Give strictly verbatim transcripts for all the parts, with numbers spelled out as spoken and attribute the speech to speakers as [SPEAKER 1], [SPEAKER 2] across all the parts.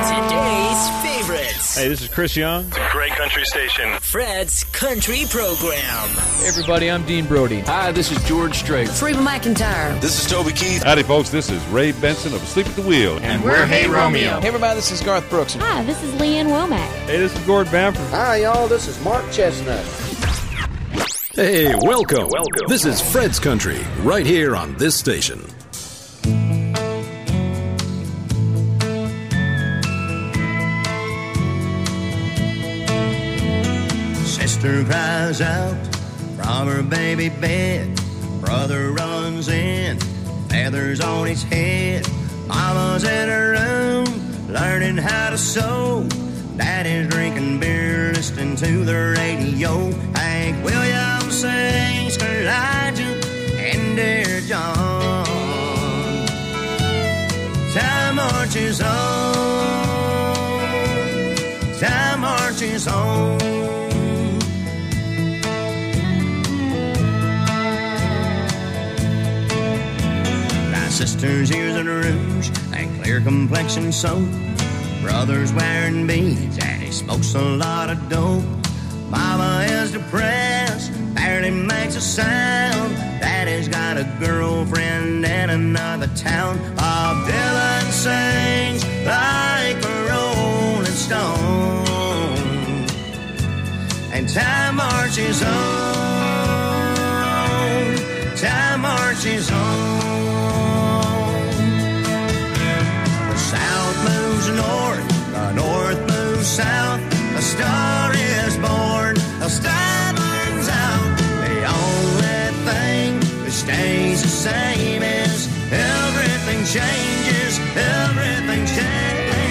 [SPEAKER 1] Today's favorites.
[SPEAKER 2] Hey, this is Chris Young.
[SPEAKER 3] It's a great country station.
[SPEAKER 1] Fred's Country Program.
[SPEAKER 4] Hey everybody, I'm Dean Brody.
[SPEAKER 5] Hi, this is George Strait.
[SPEAKER 6] Reba McEntire.
[SPEAKER 7] This is Toby Keith.
[SPEAKER 8] Howdy, folks. This is Ray Benson of Asleep at the Wheel.
[SPEAKER 5] And, and we're, we're Hey Romeo.
[SPEAKER 4] Hey everybody, this is Garth Brooks.
[SPEAKER 9] Hi, this is Leanne Womack.
[SPEAKER 2] Hey, this is Gord Bamford.
[SPEAKER 10] Hi, y'all. This is Mark Chestnut.
[SPEAKER 11] Hey, welcome. Welcome. This is Fred's Country, right here on this station.
[SPEAKER 12] Sister cries out from her baby bed. Brother runs in, feathers on his head. Mama's in her room, learning how to sew. Daddy's drinking beer, listening to the radio. Hank Williams sings Elijah and Dear John. Time marches on, time marches on. My sister's ears are rouge and clear complexion soap. Brother's wearing beads and he smokes a lot of dope. Mama is depressed, barely makes a sound. Daddy's got a girlfriend in another town. Bob Dylan sings like a rolling stone. And time marches on, time marches on. The South moves north, the North moves south. A star is born, a star burns out. The only thing that stays the same is everything changes, everything changes.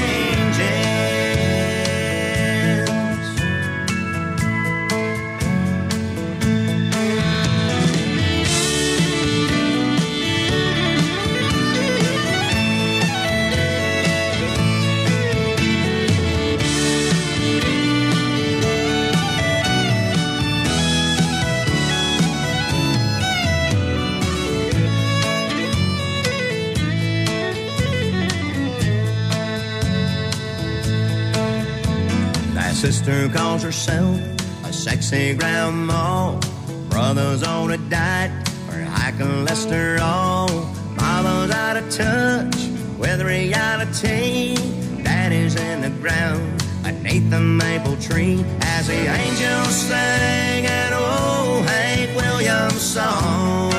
[SPEAKER 12] Sister calls herself a sexy grandma. Brother's on a diet for high cholesterol. Mama's out of touch with reality. Daddy's in the ground beneath the maple tree as the angels sing an old Hank Williams song.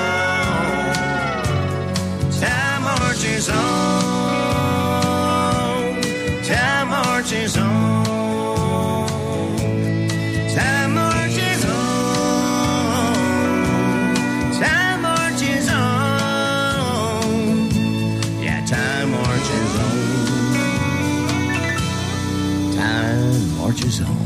[SPEAKER 12] Time marches on, time marches on. Time marches on, time marches on, yeah, time marches on, time marches on.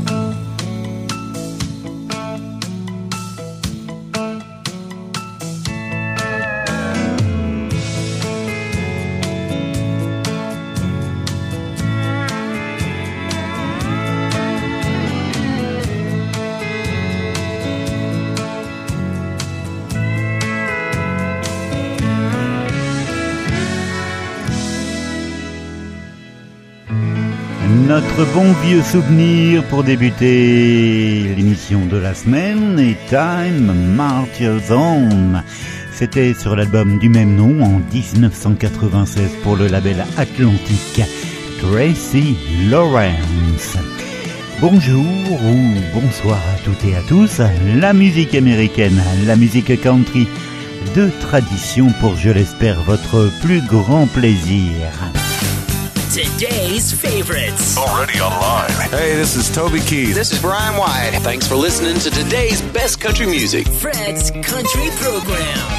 [SPEAKER 13] Notre bon vieux souvenir pour débuter l'émission de la semaine est Time Marches On. C'était sur l'album du même nom en dix-neuf cent quatre-vingt-seize pour le label Atlantic, Tracy Lawrence. Bonjour ou bonsoir à toutes et à tous. La musique américaine, la musique country de tradition pour, je l'espère, votre plus grand plaisir.
[SPEAKER 1] Today's favorites.
[SPEAKER 3] Already online.
[SPEAKER 7] Hey, this is Toby Keith.
[SPEAKER 5] This is Brian White. Thanks for listening to today's best country music.
[SPEAKER 1] Fred's Country Program.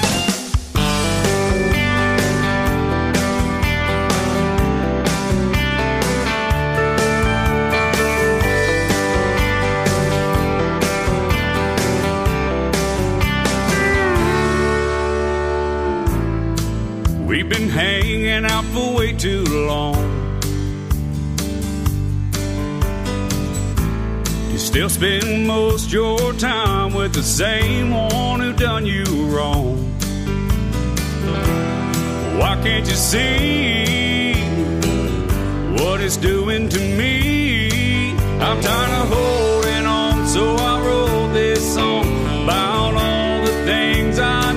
[SPEAKER 14] We've been hanging out for way too long. You still spend most your time with the same one who done you wrong. Why can't you see what it's doing to me. I'm tired of holding on, so I wrote this song about all the things I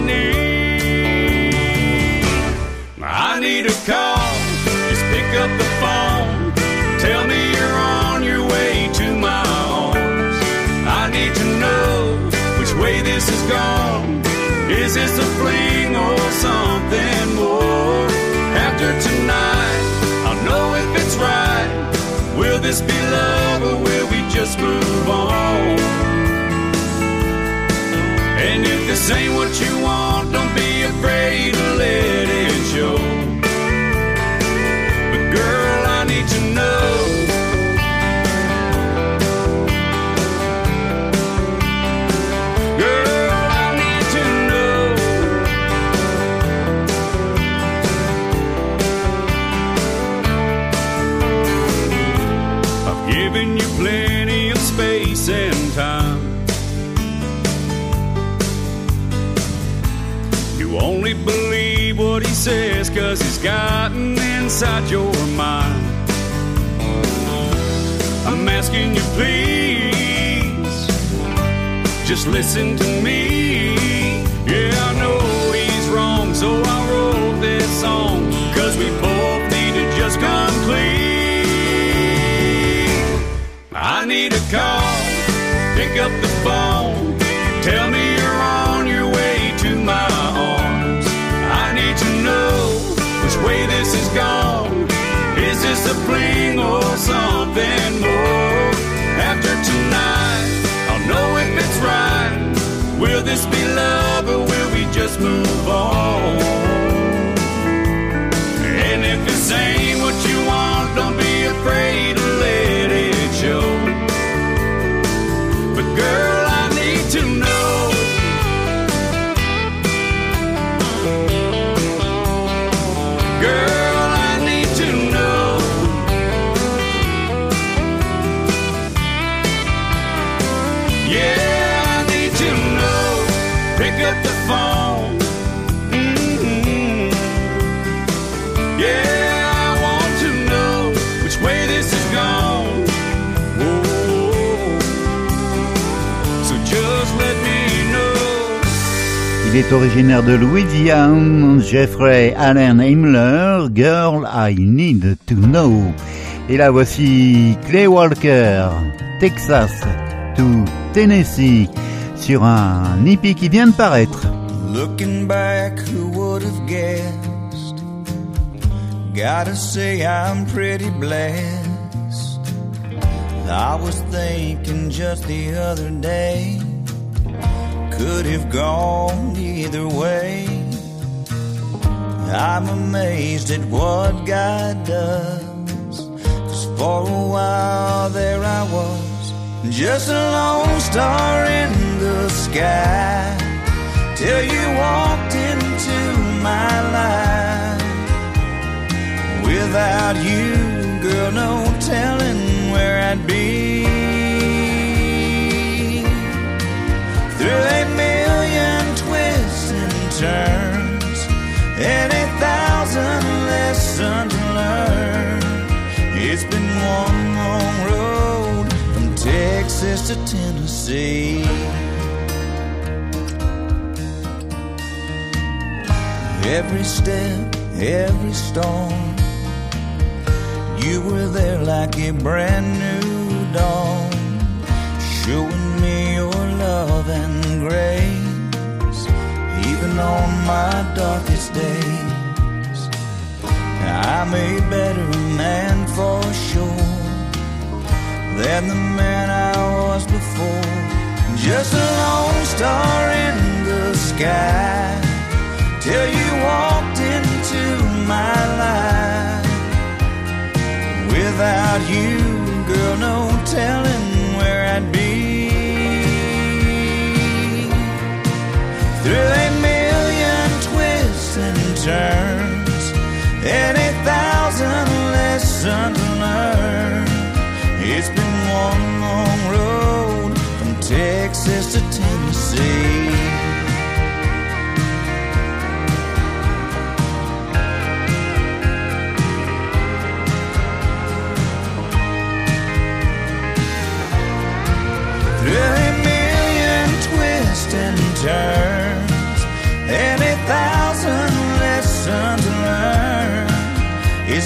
[SPEAKER 14] need. I need a call, just pick up the phone. Tell me you're on your way to my arms. I need to know which way this is gone. Is this a fling or something more? After tonight, I'll know if it's right. Will this be love or will we just move on? And if this ain't what you want, don't be afraid to let it show. But girl, I need to know. Girl, I need to know. I've given you plenty of space and time. You only believe what he says 'cause he's gotten inside your mind. I'm asking you please, just listen to me. Yeah, I know he's wrong, so I wrote this song 'cause we both need to just come clean. I need a call, pick up the phone. Tell me you're on your way to my arms. I need to know which way this is gone. Is this a fling or something more? After tonight, I'll know if it's right. Will this be love or will we just move on? And if this ain't what you want, don't be afraid to let it show. But girl, I need to know. Girl, I need to know. Yeah, I need to know. Pick up the phone. Mm-hmm. Yeah, I want to know which way this is gone. Whoa. So just let me know.
[SPEAKER 13] Il est originaire de Louisiane, Jeffrey Allen Himmler, Girl I Need to Know. Et là voici Clay Walker, Texas to Tennessee, sur un E P qui vient de paraître.
[SPEAKER 6] Looking back, who would have guessed? Gotta say I'm pretty blessed. I was thinking just the other day, could have gone either way. I'm amazed at what God does, 'cause for a while there I was, just a lone star in the sky, till you walked into my life. Without you, girl, no telling where I'd be. Through a million twists and turns, and a thousand lessons learned, it's been one long road from Texas to Tennessee. Every step, every storm, you were there like a brand new dawn, showing me your love and grace, even on my darkest days. I'm a better man for sure than the man I was before. Just a lone star in the sky, till you walked into my life. Without you, girl, no telling where I'd be. Through a million twists and turns, and a thousand lessons learned, it's been one long road from Texas to Tennessee.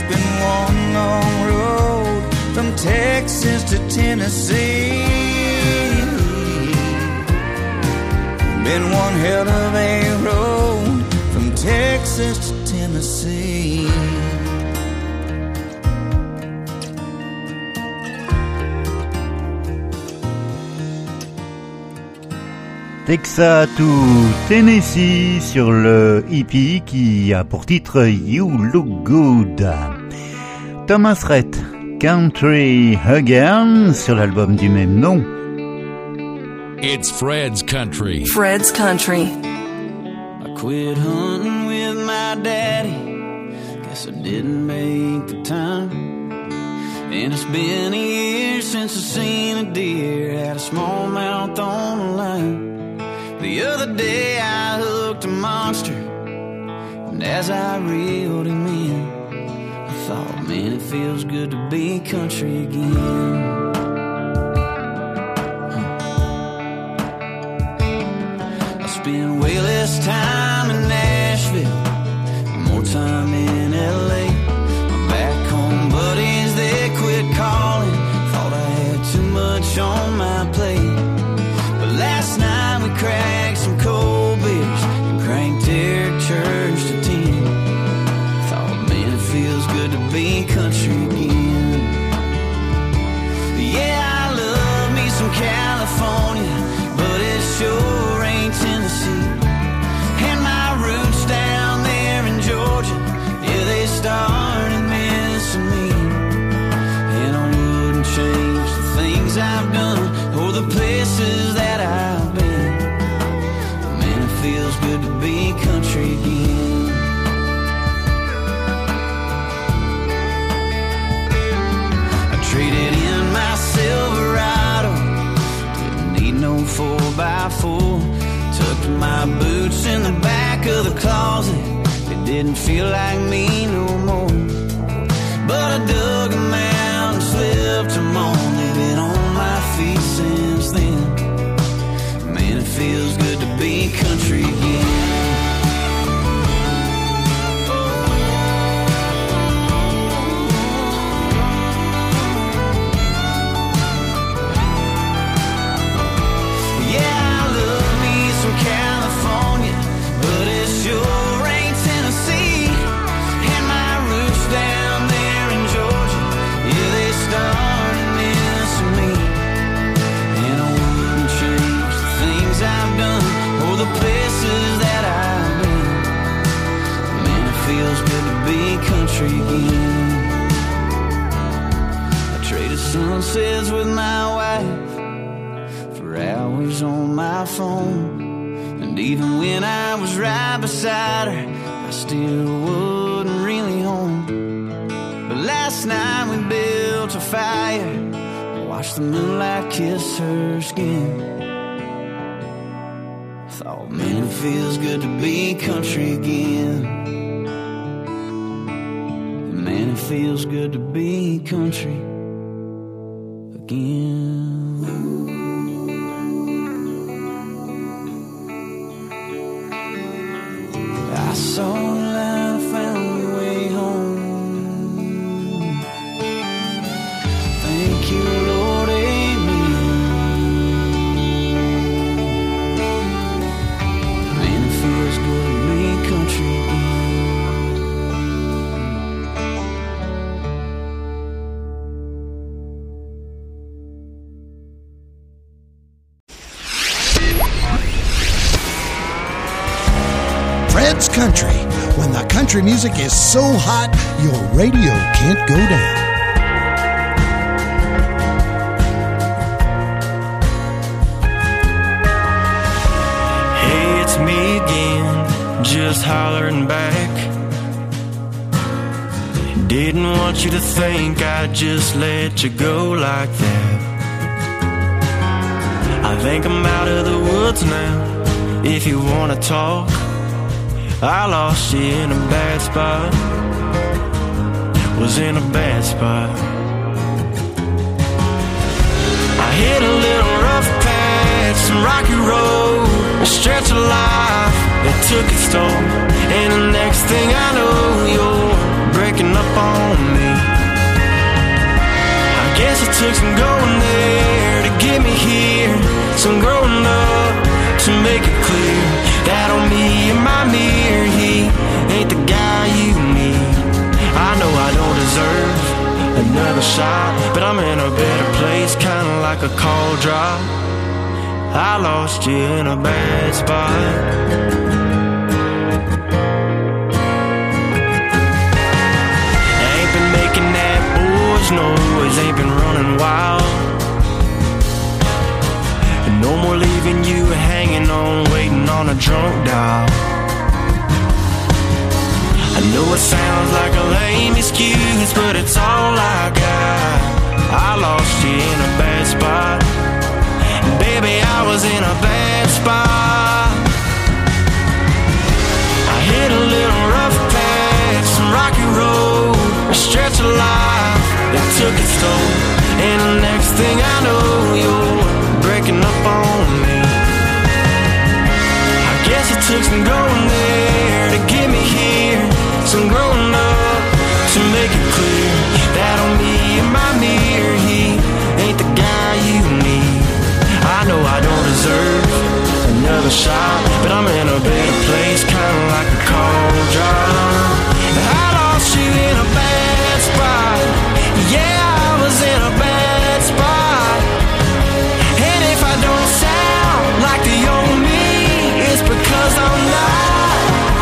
[SPEAKER 6] been one long road from Texas to Tennessee. Been one hell of a road from Texas to Tennessee.
[SPEAKER 13] Texas to Tennessee sur le E P qui a pour titre You Look Good. Thomas Rhett, Country Again sur l'album du même nom.
[SPEAKER 9] It's Fred's Country.
[SPEAKER 15] Fred's Country.
[SPEAKER 16] I quit hunting with my daddy. Guess I didn't make the time. And it's been a year since I seen a deer. Had a smallmouth on the line. The other day I hooked a monster, and as I reeled him in, I thought, man, it feels good to be country again. I spend way less time in Nashville, more time in L A. My back home buddies, they quit calling, thought I had too much on my plate. But last night we cracked some cold beers and cranked Eric Church to ten. Thought, man, it feels good to be country again. Yeah, I love me some California, but it sure ain't Tennessee. And my roots down there in Georgia, yeah, they started missing me. And I wouldn't change the things I've done or the places that I've been. Man, it feels good to be country again. I traded in my Silverado, didn't need no four by four. Tucked my boots in the back of the closet, it didn't feel like me no more. But I dug them out and slipped them on. They've been on my feet since then. Man, it feels good to be country again. Yeah, I love me some California, but it sure ain't Tennessee. And my roots down there in Georgia, yeah, they started missing me. And I wouldn't change the things I've done or the places that I've been. Man, it feels good to be country again. I traded sunsets with my wife for hours on my phone. And even when I was right beside her, I still wasn't really home. But last night we built a fire, watched the moonlight kiss her skin. Thought, man, it feels good to be country again. Man, it feels good to be country again. I saw the light, I found my way home. Thank you, Lord, amen. Man, it feels good to be country again.
[SPEAKER 17] Fred's Country, when the country music is so hot, your radio can't go down.
[SPEAKER 18] Hey, it's me again, just hollering back. Didn't want you to think I'd just let you go like that. I think I'm out of the woods now, if you wanna talk. I lost you in a bad spot, was in a bad spot. I hit a little rough patch, some rocky road, a stretch of life that took its toll. And the next thing I know, you're breaking up on me. I guess it took some going there to get me here, some growing up to make it clear that on me and my mirror, he ain't the guy you need. I know I don't deserve another shot, but I'm in a better place, kinda like a cold drop. I lost you in a bad spot. I ain't been making that boys noise, ain't been running wild. And no more leaving you hanging on, waiting on a drunk dial. I know it sounds like a lame excuse, but it's all I got. I lost you in a bad spot. Baby, I was in a bad spot. I hit a little rough patch, some rocky road, a stretch of life that took its toll. And the next thing I know, you're breaking up on me. I guess it took some going there to get me here, some growing up to make it clear that on me and my mirror, he ain't the guy you need. I know I don't deserve another shot, but I'm in a better place, kinda like a cold drop. I lost you in a bad spot. Yeah, I was in a bad spot. And if I don't sound like the old me, it's because I'm not.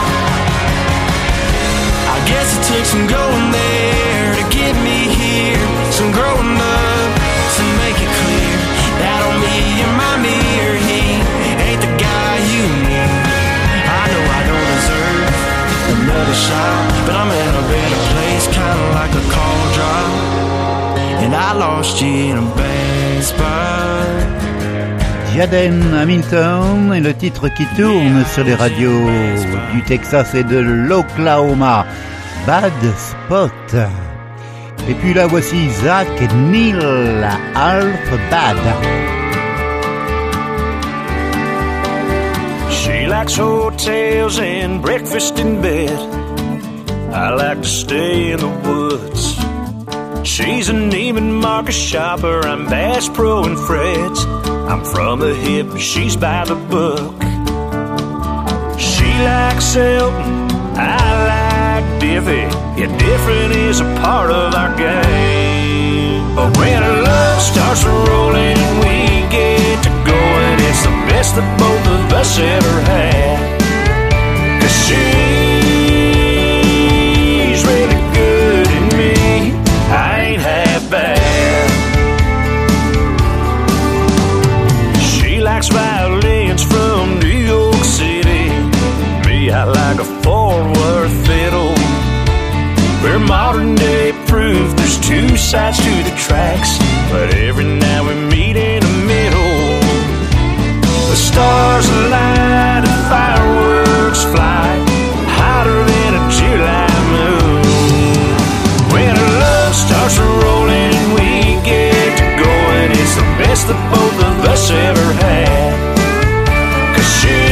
[SPEAKER 18] I guess it took some going there to get me here, some growing up to make it clear that on me and my mirror, he ain't the guy you need. I know I don't deserve another shot, but I'm in a better place, kinda like a cold drop. And I lost you in a bad spot.
[SPEAKER 13] Jaden Hamilton est le titre qui tourne sur les radios du Texas et de l'Oklahoma. Bad Spot. Et puis là voici Zach Neil, Half Bad.
[SPEAKER 15] She likes hotels and breakfast in bed. I like to stay in the woods. She's a Neiman Marcus shopper, I'm Bass Pro and Fred's. I'm from the hip, she's by the book. She likes Elton, I like Diffie. Yeah, different is a part of our game. But when our love starts rolling and we get to going, it's the best that both of us ever had. 'Cause she's really good at me, I ain't half bad. She likes violins from New York City. Me, I like a Fort Worth fiddle. We're modern day proof there's two sides to the tracks, but every now we meet in the middle. The stars align and fireworks fly, hotter than a July moon. When our love starts rolling and we get to going, it's the best that both of us ever had. 'Cause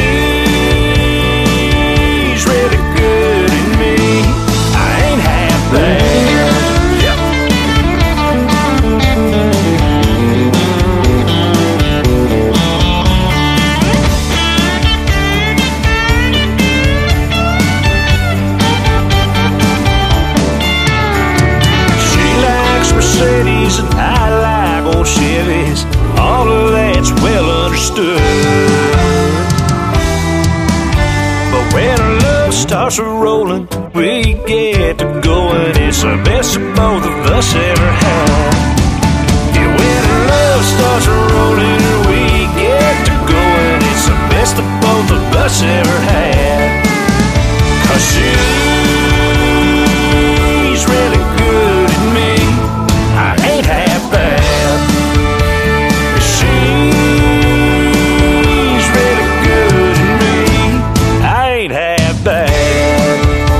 [SPEAKER 15] she's really good at me, I ain't half bad. Yeah. She likes Mercedes and I like old Chevys. All of that's well understood. But when our love starts rolling, we get to going, it's the best that both of us ever had. Yeah, when our love starts rolling, we get to going, it's the best that both of us ever had. 'Cause she's really good at me, I ain't half bad. She's really good at me, I ain't half bad.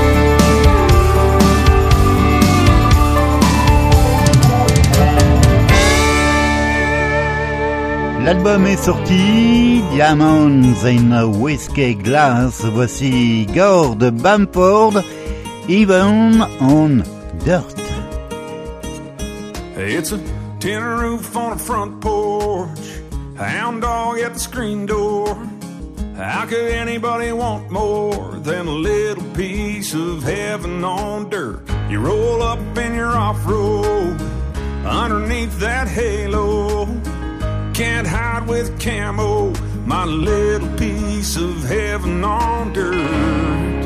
[SPEAKER 13] L'album est sorti, Diamonds in a Whiskey Glass. Voici Gord Bamford, Even on Dirt.
[SPEAKER 14] It's a tin roof on a front porch, hound dog at the screen door. How could anybody want more than a little piece of heaven on dirt? You roll up in your off-road underneath that halo. Can't hide with camo, my little piece of heaven on dirt.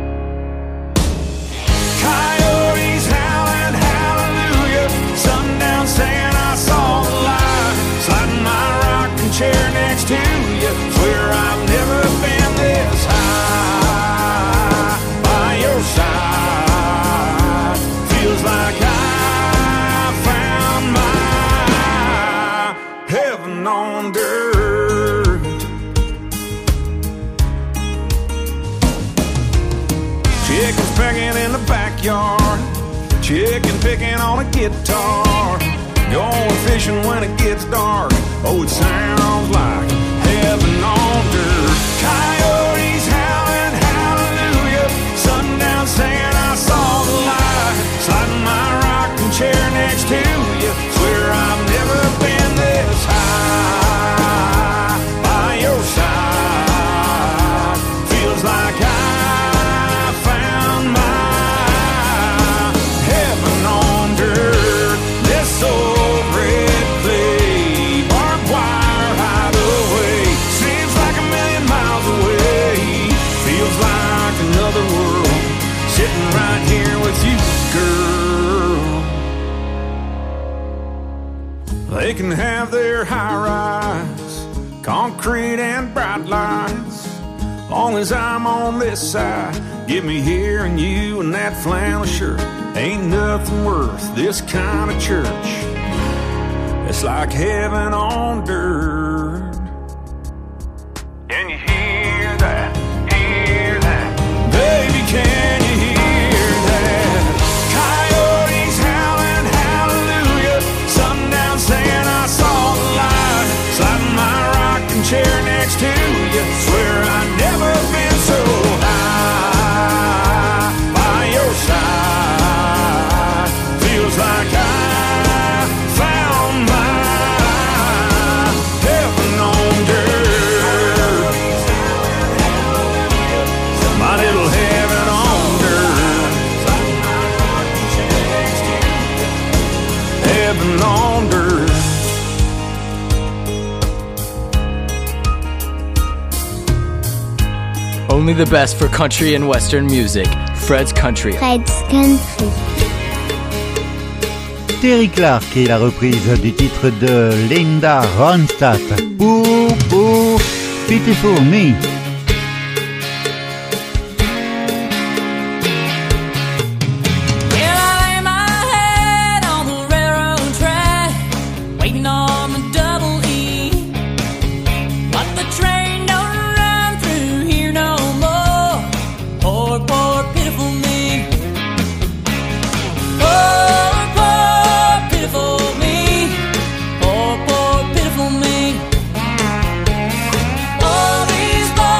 [SPEAKER 14] Coyotes howling hallelujah, sundown saying I saw the light, sliding my rocking chair next to you. Swear I've never been this high by your side. Feels like I found my heaven on dirt. Chickens pecking in the backyard, chicken picking on a guitar, going fishing when it gets dark. Oh, it sounds like heaven on dirt. Coyotes howling hallelujah, sundown saying I saw the light, sliding my rocking chair next to you. Swear I've never been this high by your side. Feels like I found my heaven on dirt. This old red clay barbed wire hideaway seems like a million miles away. Feels like another world sitting right here with you, girl. They can have their high-rise, concrete and bright lights. Long as I'm on this side, get me here and you and that flannel shirt. Ain't nothing worth this kind of church. It's like heaven on dirt. Can you hear that? Hear that? Baby, can you hear that? Coyotes howling hallelujah, sundown saying I saw the light, sliding my rocking chair next to you. Swear I've never been so high by your side. Feels like I found my heaven on dirt. My little heaven on dirt. Heaven on dirt.
[SPEAKER 4] Only the best for country and western music. Fred's Country.
[SPEAKER 19] Fred's Country.
[SPEAKER 13] Terry Clark et la reprise du titre de Linda Ronstadt. Ooh, ooh, Pitiful Me.
[SPEAKER 20] All these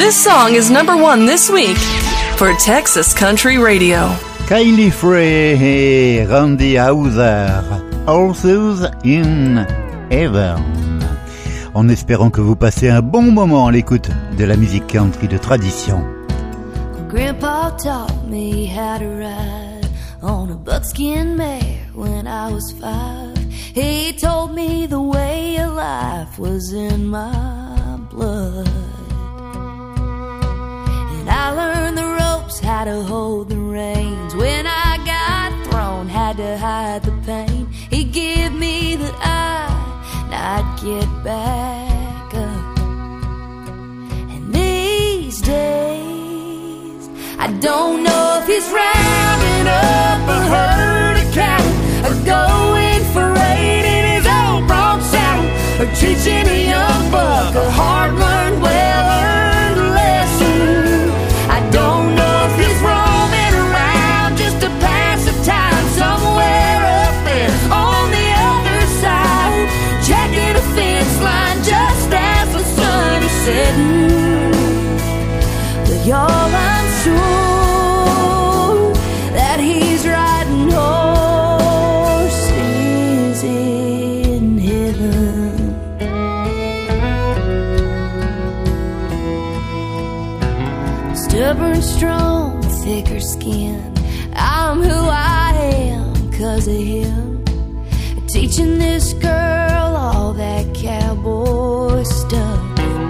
[SPEAKER 19] This song is number one this week for Texas Country Radio.
[SPEAKER 13] Kylie Frey et Randy Houser, Horses in Heaven. En espérant que vous passez un bon moment à l'écoute de la musique country de tradition.
[SPEAKER 20] Grandpa taught me how to ride on a buckskin mare when I was five. He told me the way of life was in my blood. And I learned the ropes, how to hold the reins. When I got thrown, had to hide the pain. He'd give me the eye, and I'd get back up. And these days, I don't know if he's rounding up a herd of cattle or going for eight in his old bronc saddle, or teaching a young buck a hard-learned, well-earned lesson. I don't know if he's roaming around just to pass the time somewhere up there on the other side, checking a fence line just as the sun is setting. But y'all, I'm sure that he's riding horses in heaven. Stubborn, strong, thicker skin, I'm who I am 'cause of him. Teaching this girl all that cowboy stuff.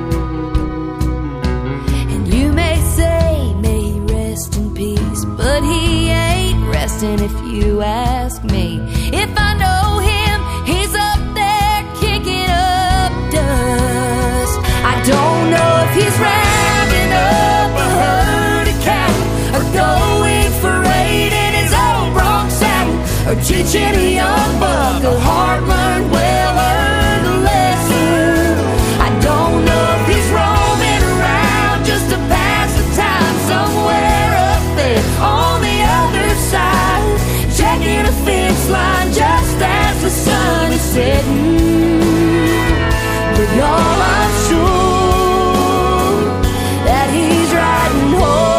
[SPEAKER 20] And you may say, may he rest in peace, but he ain't resting if you ask me. If I know him, he's up there kicking up dust. I don't know if he's rounding up a herd of cattle or going for eight in his old bronc saddle, or teaching a young buck a hard-learned, well-earned lesson. I don't know if he's roaming around just to pass the time somewhere up there on the other side, checking a fence line just as the sun is setting. But y'all, I'm sure that he's riding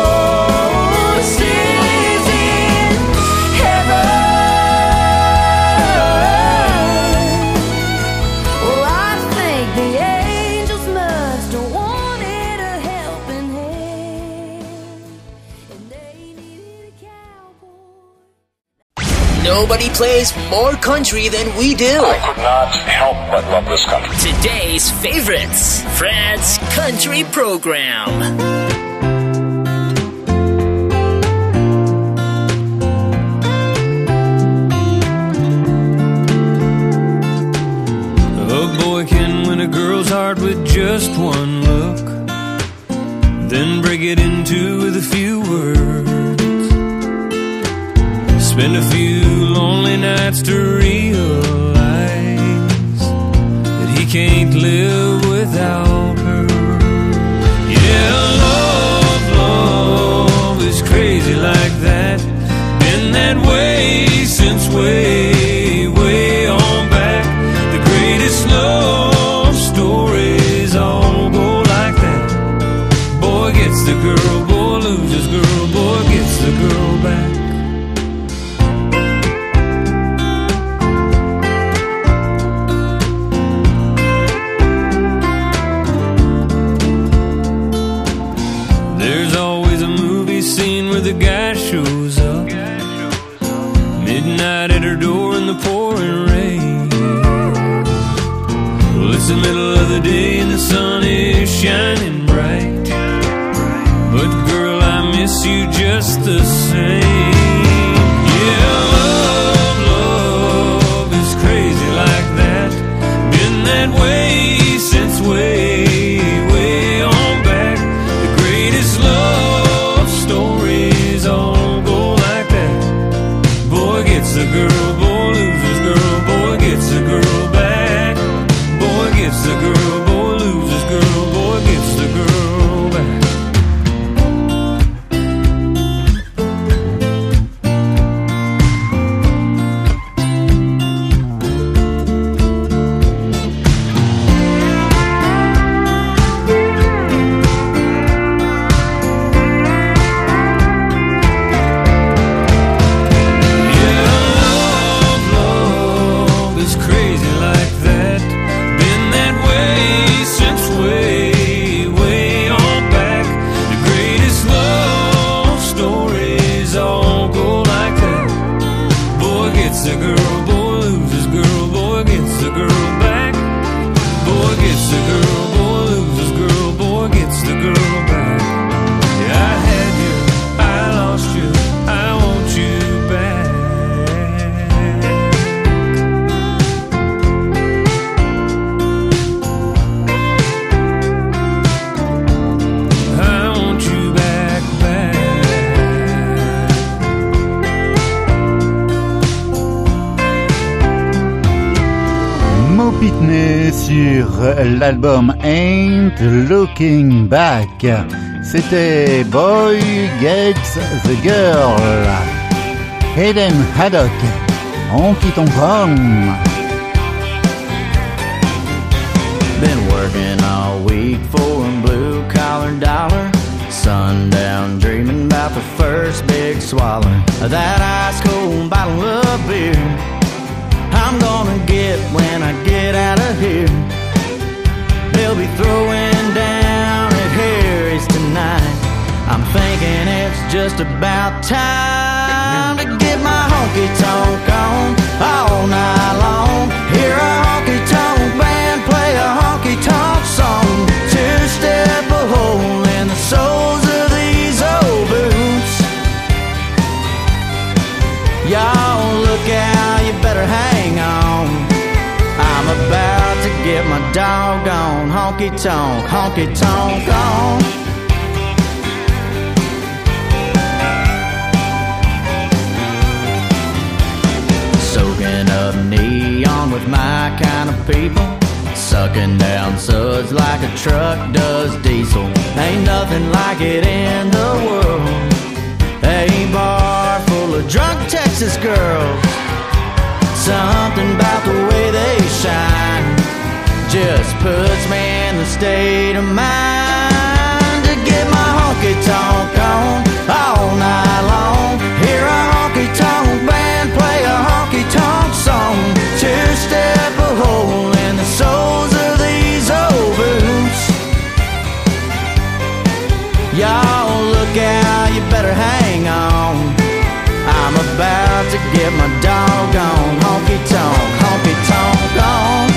[SPEAKER 20] horses in heaven. Oh, I think the angels must have wanted a helping hand, and they needed a cowboy.
[SPEAKER 1] Nobody plays more country than we do.
[SPEAKER 3] I could not help but love this country.
[SPEAKER 1] Today's favorites, Fred's Country Program.
[SPEAKER 14] A boy can win a girl's heart with just one look, then break it into with a few words. Spend a few lonely nights to realize that he can't live without her. Yeah, love, love is crazy like that. Been that way since way, way on back. The greatest love stories all go like that. Boy gets the girl, boy loses girl, boy gets the girl back. There's always a movie scene where the guy shows up midnight at her door in the pouring rain. Well, it's the middle of the day and the sun is shining bright, but girl, I miss you just the same. Yeah, love, love is crazy like that. Been that way since way, way on back. The greatest love stories all go like that. Boy gets the girl, boy loses girl, boy gets the girl back. Boy gets the girl, boy loses girl, boy gets the girl back.
[SPEAKER 13] Pitney sur l'album Ain't Looking Back. C'était Boy Gets the Girl. Hayden Haddock, Honky Tonk Home.
[SPEAKER 16] Been working all week for a blue collar dollar. Sundown dreaming about the first big swallow of that ice cold bottle of beer I'm gonna get when I get out of here. They'll be throwing down at Harry's tonight. I'm thinking it's just about time to get my honky tonk on all night long. Hear a honky tonk band play a honky tonk song. Two step a hole in the soles of these old boots. Y'all look out, you better hang on. I'm about to get my doggone honky tonk, honky tonk on. Soaking up neon with my kind of people. Sucking down suds like a truck does diesel. Ain't nothing like it in the world. A bar full of drunk Texas girls. Something about the way they shine just puts me in the state of mind to get my honky tonk on all night long. Hear a honky tonk band play a honky tonk song. Two step a hole in the soles of these old boots. Y'all look out, you better hang on. I'm about to get my doggone honky tonk, honky tonk on.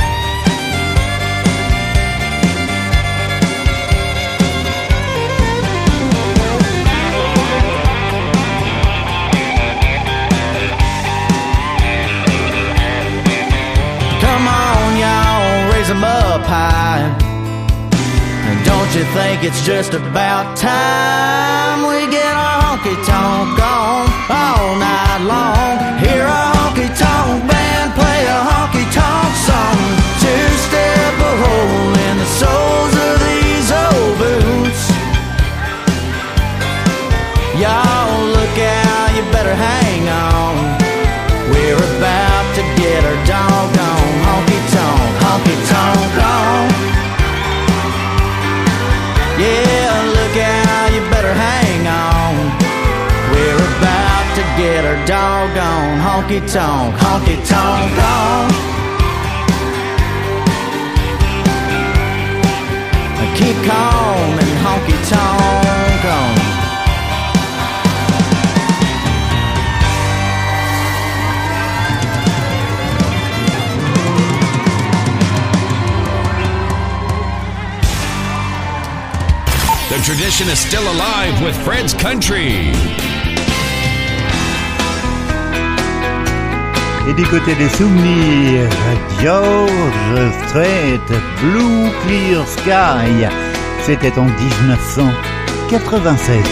[SPEAKER 16] Come on, y'all, raise 'em up high. And don't you think it's just about time we get our honky tonk on all night long? Hear a honky tonk band play a honky tonk song. Two step a hole in the soles of these old boots. Y'all look out, you better hang on. We're about to get our doggone honky tonk, honky tonk on. Yeah, look out, you better hang on. We're about to get our doggone honky tonk, honky tonk on. Keep calm and honky tonk on.
[SPEAKER 9] The tradition is still alive with Fred's Country.
[SPEAKER 13] Et du côté des souvenirs, George Strait, Blue Clear Sky, c'était en dix-neuf cent quatre-vingt-seize.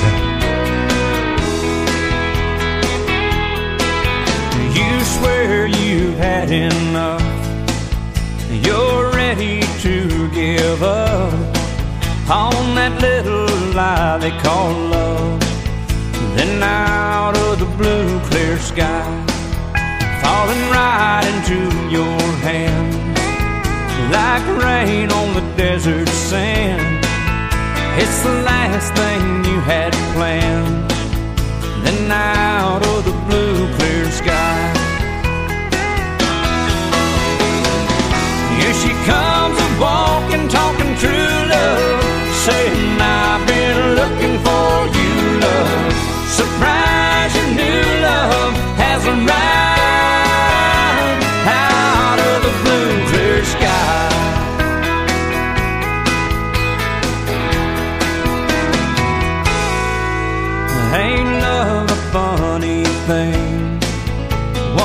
[SPEAKER 14] You swear you've had enough. You're ready to give up on that little lie they call love. Then out of the blue clear sky, falling right into your hand, like rain on the desert sand. It's the last thing you had planned. Then out of the blue clear sky, here she comes a-walking, talking true love, saying I've been looking for you, love. Surprise, your new love has arrived out of the blue clear sky. Ain't love a funny thing?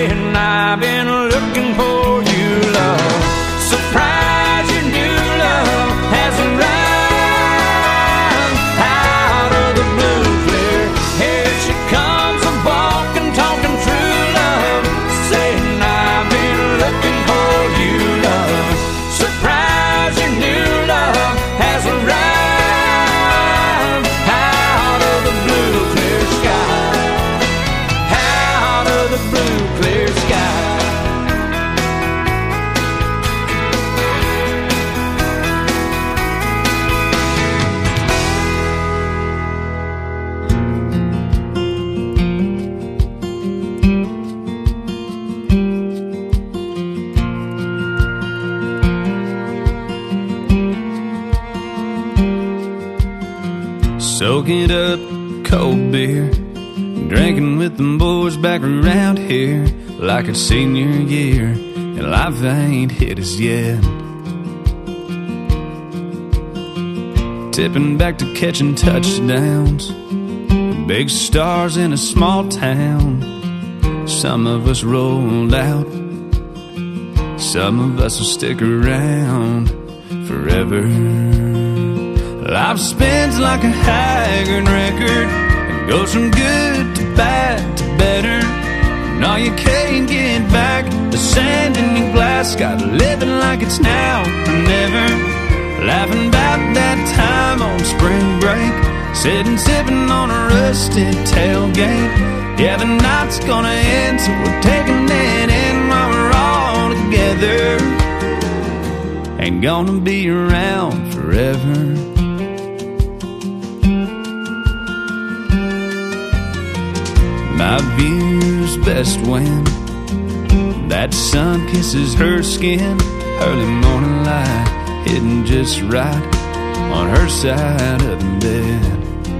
[SPEAKER 14] saying I've been looking for you, love. Surprise, your new love has arrived out of the blue clear. Here she comes, a walking, talking true love, saying I've been looking for you, love. Surprise, your new love has arrived out of the blue clear sky, out of the blue clear sky. Soaking up cold beer, drinking with them boys back around here, like it's senior year, and life ain't hit us yet. Tipping back to catching touchdowns, big stars in a small town. Some of us rolled out, some of us will stick around forever. Life spins like a haggard record, it goes from good to bad to better. No, you can't get back the sand in your glass. Got living like it's now or never. Laughing about that time on spring break, sitting sipping on a rusted tailgate. Yeah, the night's gonna end, so we're taking it in while we're all together. Ain't gonna be around forever. My view's best when that sun kisses her skin. Early morning light hitting just right on her side of the bed.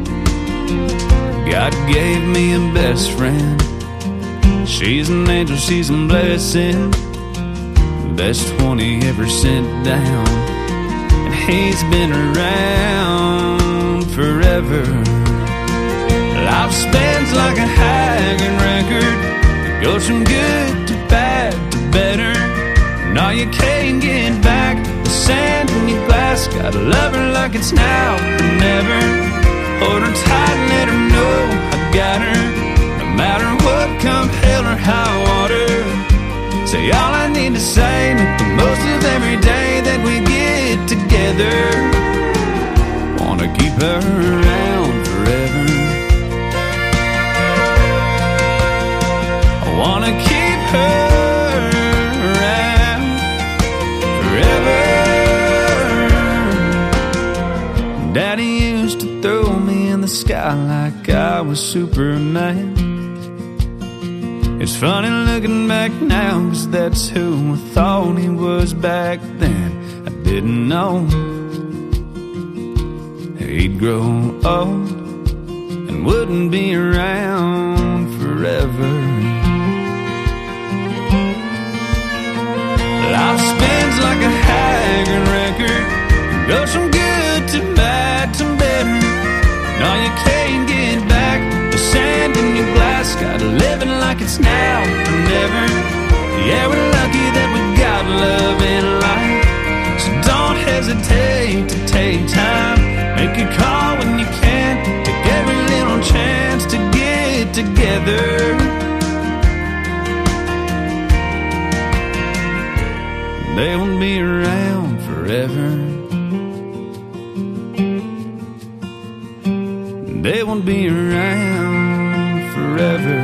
[SPEAKER 14] God gave me a best friend. She's an angel, she's a blessing. Best twenty ever sent down, and he's been around forever. Life spins like a haggard record, it goes from good to bad to better. No, you can't get back the sand in your glass. Gotta love her like it's now or never. Hold her tight and let her know I got her, no matter what, come hell or high water. Say all I need to say, make the most of every day that we get together. Wanna keep her around forever. I wanna keep her around forever. Daddy used to throw me in the sky like I was Superman. It's funny looking back now, 'cause that's who I thought he was back then. I didn't know he'd grow old and wouldn't be around forever. Life spins like a haggard record, it goes from good to bad to better. No, you can't get back the sand in your glass. Gotta live it like it's now or never. Yeah, we're lucky that we got love in life, so don't hesitate to take time. Make a call when you can, take every little chance to get together. They won't be around forever. They won't be around forever.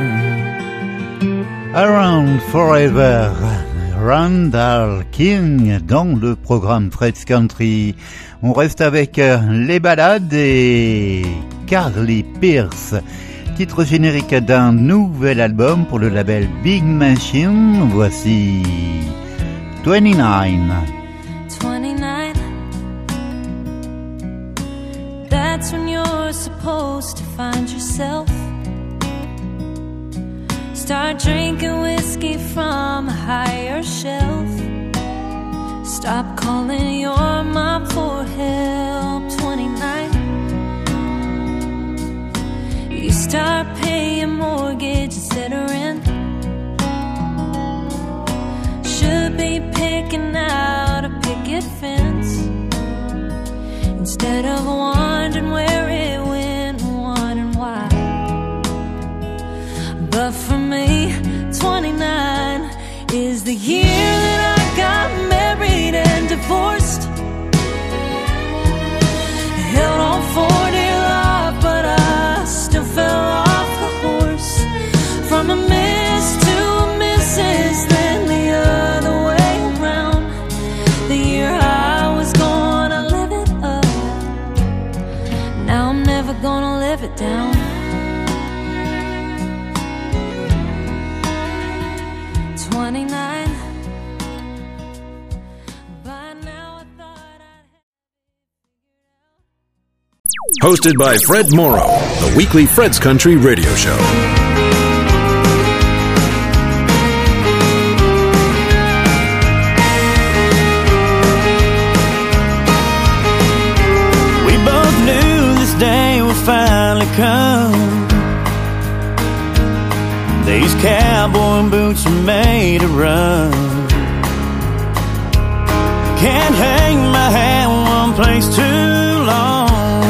[SPEAKER 13] Around Forever, Randall King dans le programme Fred's Country. On reste avec les ballades et Carly Pearce, titre générique d'un nouvel album pour le label Big Machine. Voici twenty-nine.
[SPEAKER 20] twenty-nine. That's when you're supposed to find yourself. Start drinking whiskey from a higher shelf. Stop calling your mom for help. twenty-nine. You start paying mortgage instead of rent. taking out a picket fence instead of wondering where it went and wondering why. But for me, twenty-nine is the year that I got married and divorced. Held on for dear life, but I still fell off the horse. From a miss to a missus, then the other way around. The year I was gonna live it up, now I'm never gonna live it down. twenty-nine.
[SPEAKER 11] Hosted by Fred Morrow, the weekly Fred's Country radio show.
[SPEAKER 18] We both knew this day would finally come. These cowboy boots are made to run. Can't hang my hat in one place too long.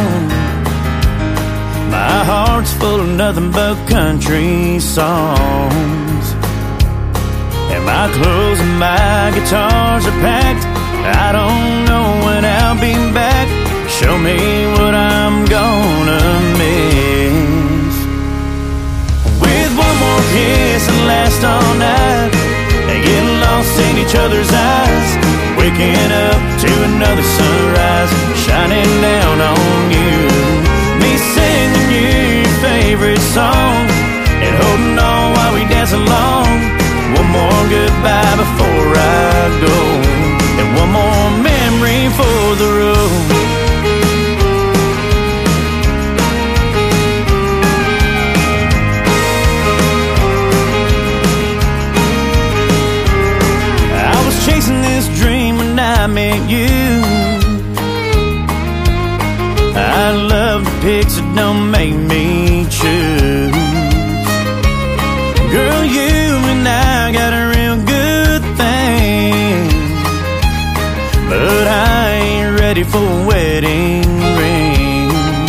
[SPEAKER 18] My heart's full of nothing but country songs, and my clothes and my guitars are packed. I don't know when I'll be back. Show me what I'm gonna miss. With one more kiss and last all night, and get lost in each other's eyes, waking up to another sunrise shining down on you. Me singing your favorite song and holding on while we dance along. One more goodbye before I go, and one more memory for the road. I was chasing this dream when I met you. I love the pics that don't make me choose. Girl, you and I got a real good thing, but I ain't ready for a wedding ring.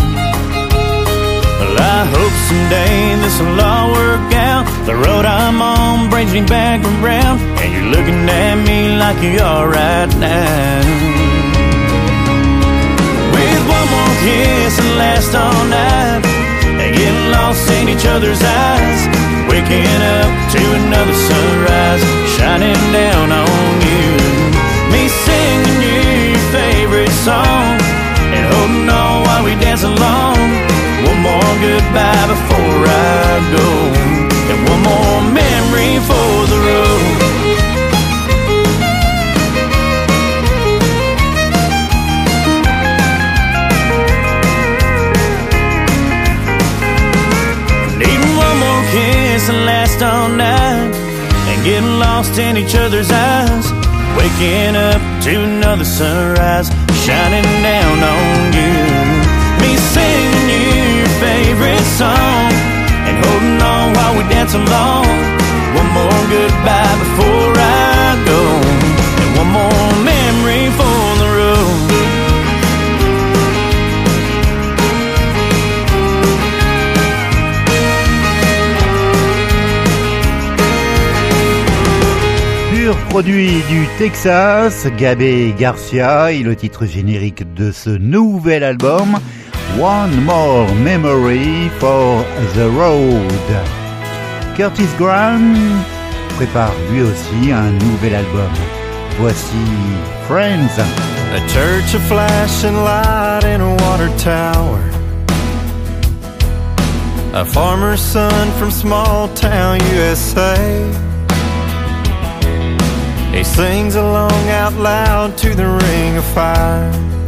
[SPEAKER 18] Well, I hope someday this'll all work out. The road I'm on brings me back around, and you're looking at me like you are right now. One more kiss and last all night, and get lost in each other's eyes, waking up to another sunrise shining down on you. Me singing your favorite song and holding on while we dance along. One more goodbye before I go, and one more memory for the road. Kiss and last all night, and getting lost in each other's eyes, waking up to another sunrise shining down on you. Me singing your favorite song and holding on while we dance along. One more goodbye before I go, and one more memory for the road.
[SPEAKER 13] Produit du Texas, Gabe Garcia, et le titre générique de ce nouvel album, One More Memory for the Road. Curtis Graham prépare lui aussi un nouvel album. Voici Friends.
[SPEAKER 21] A church of flashing light in a water tower. A farmer's son from small town U S A. He sings along out loud to the ring of fire.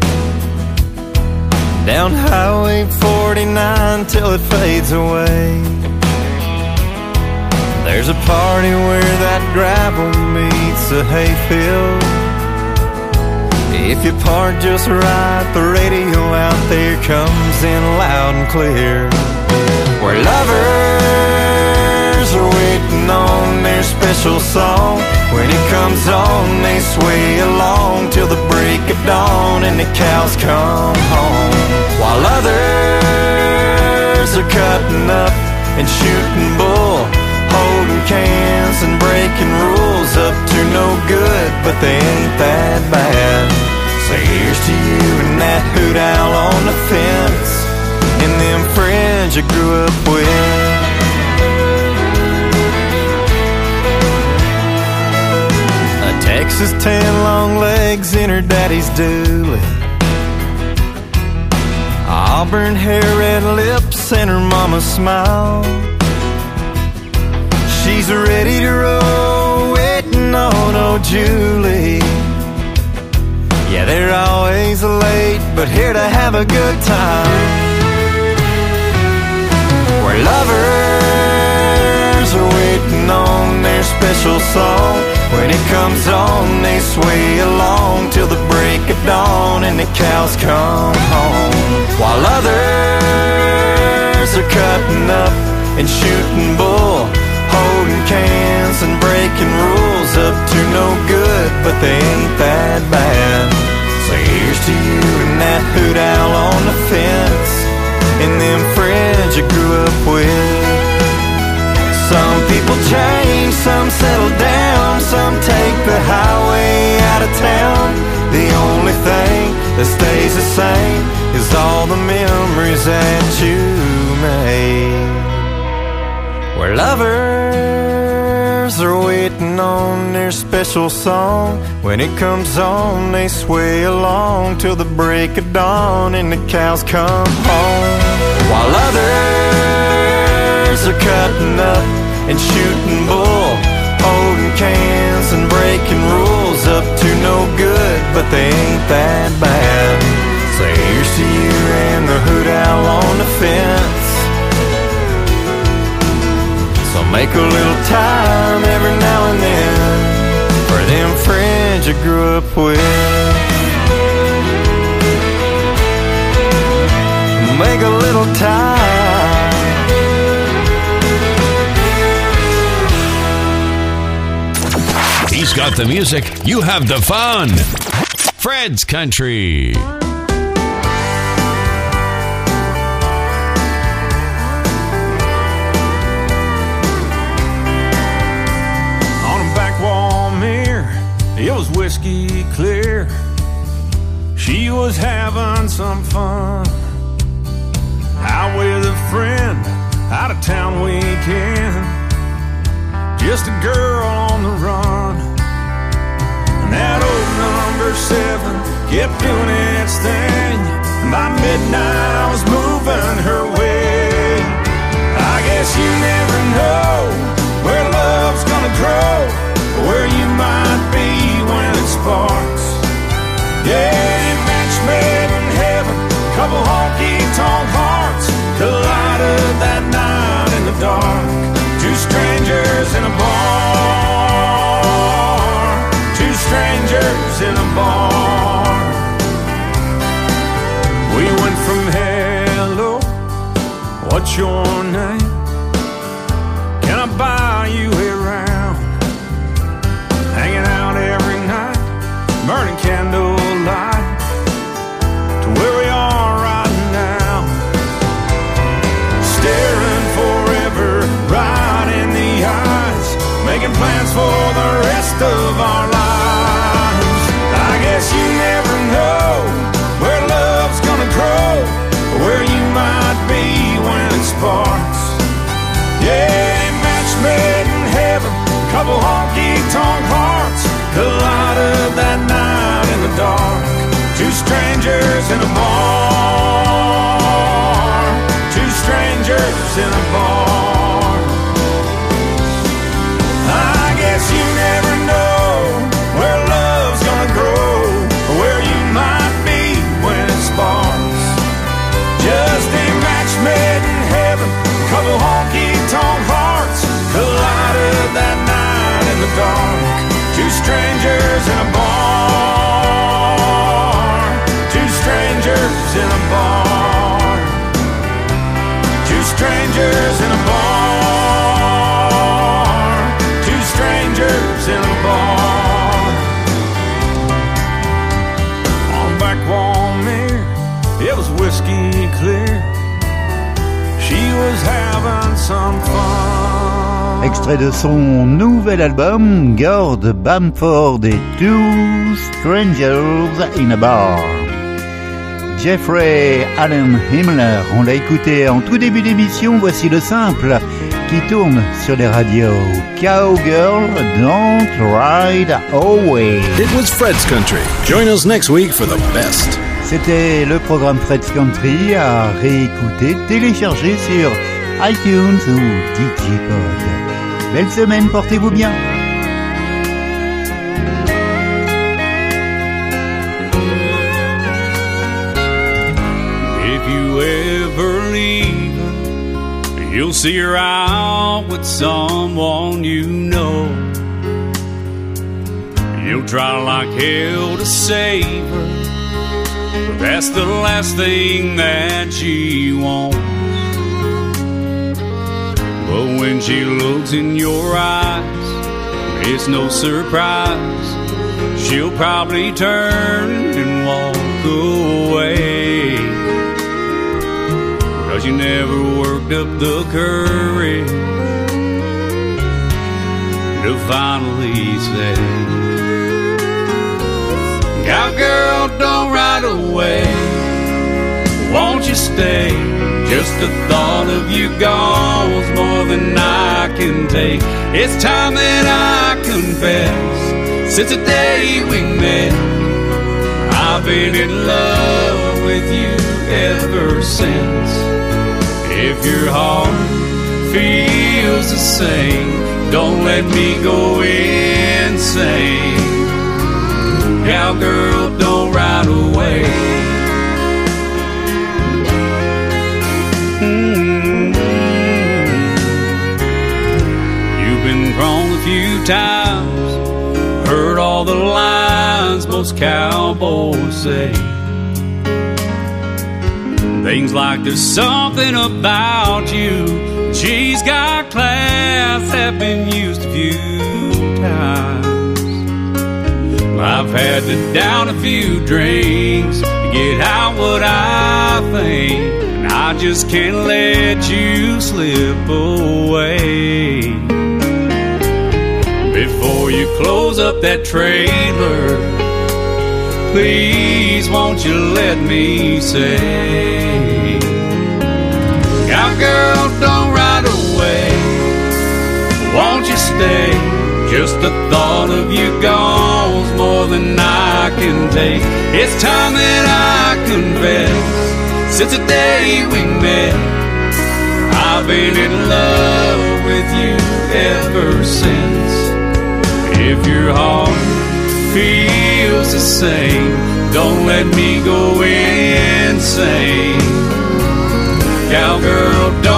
[SPEAKER 21] Down Highway forty-nine till it fades away. There's a party where that gravel meets a hayfield. If you park just right, the radio out there comes in loud and clear. Where lovers are waiting on their special song. When it comes on, they sway along till the break of dawn and the cows come home. While others are cutting up and shooting bull, holding cans and breaking rules up to no good, but they ain't that bad. So here's to you and that hoot owl on the fence, and them friends you grew up with. Texas tan long legs in her daddy's dually, auburn hair, red lips, and her mama's smile. She's ready to roll, waiting on old Julie. Yeah, they're always late, but here to have a good time. Where lovers are waiting on their special song. When it comes on, they sway along till the break of dawn and the cows come home. While others are cutting up and shooting bull, holding cans and breaking rules up to no good, but they ain't that bad. So here's to you and that hoot owl on the fence, and them friends you grew up with. Some people change, some settle down, some take the highway out of town. The only thing that stays the same is all the memories that you made. Where lovers are waiting on their special song. When it comes on, they sway along till the break of dawn and the cows come home. While others are cutting up and shooting bull, holding cans and breaking rules up to no good, but they ain't that bad. So here's to you and the hoot owl on the fence. So make a little time every now and then for them friends you grew up with. Make a little time.
[SPEAKER 9] He's got the music, you have the fun. Fred's Country.
[SPEAKER 14] On a back wall mirror, it was whiskey clear. She was having some fun, out with a friend, out of town weekend. Just a girl on the run. And that old number seven kept doing its thing. And by midnight I was moving her way. I guess you never know where love's gonna grow, or where you might be when it sparks. Yeah, match made in heaven, couple honky-tonk hearts collided that night in the dark. Two strangers in a bar, two strangers in a bar. We went from hello, what's your name? Can I buy you a round? Hanging out every night, burning candlelight, to where we are right now. Staring forever right in the eyes, making plans for the rest of our lives. I guess you never know where love's gonna grow, or where you might be when it sparks. Yeah, match made in heaven, couple honky-tonk hearts collided that night in the dark. Two strangers in a bar, two strangers in a bar. I guess you never know where love's gonna grow, or where you might be when it sparks. Just a match made in heaven, couple honky-tonk hearts collided that night in the dark. Two strangers in a bar, two strangers in a bar, two strangers in a bar, two strangers in a bar.
[SPEAKER 13] Extrait de son nouvel album, Gord Bamford et Two Strangers in a Bar. Jeffrey Allen Himmler, on l'a écouté en tout début d'émission, voici le simple qui tourne sur les radios. Cowgirl, Don't Ride Away.
[SPEAKER 11] It was Fred's Country. Join us next week for the best.
[SPEAKER 13] C'était le programme Fred's Country à réécouter, télécharger sur iTunes ou Digipod. Belle semaine, portez-vous bien.
[SPEAKER 14] If you ever leave, you'll see her out with someone you know. You'll try like hell to save her, but that's the last thing that she wants. But when she looks in your eyes, it's no surprise, she'll probably turn and walk away. 'Cause you never worked up the courage to finally say, cowgirl, don't ride away, won't you stay? Just the thought of you gone's more than I can take. It's time that I confess, since the day we met, I've been in love with you ever since. If your heart feels the same, don't let me go insane. Cowgirl, don't ride away. Mm-hmm. You've been wrong a few times, heard all the lines most cowboys say. Things like there's something about you, she's got class, have been used a few times. I've had to down a few drinks to get out what I think, and I just can't let you slip away. Before you close up that trailer, please won't you let me say, cowgirl, don't ride away, won't you stay? Just the thought of you gone's more than I can take. It's time that I confess, since the day we met, I've been in love with you ever since. If your heart feels the same, don't let me go insane. Cowgirl, don't